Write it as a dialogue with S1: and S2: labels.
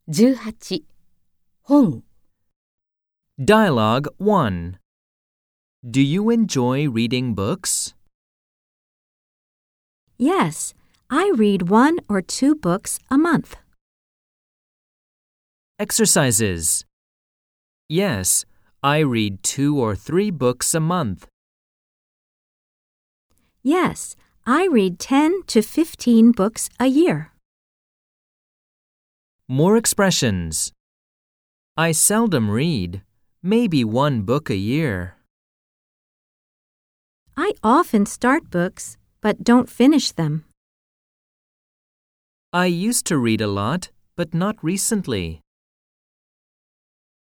S1: 18. 本
S2: Dialogue 1. Do you enjoy reading books?
S3: Yes, I read 1 or 2 books a month.
S2: Exercises. Yes, I read 2 or 3 books a month.
S3: Yes, I read 10 to 15 books a year.
S2: More expressions. I seldom read, maybe 1 book a year.
S3: I often start books, but don't finish them.
S2: I used to read a lot, but not recently.